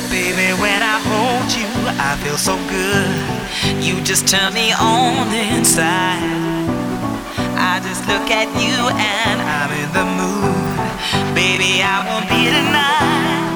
Baby, when I hold you, I feel so good. You just turn me on inside. I just look at you and I'm in the mood. Baby, I want me tonight.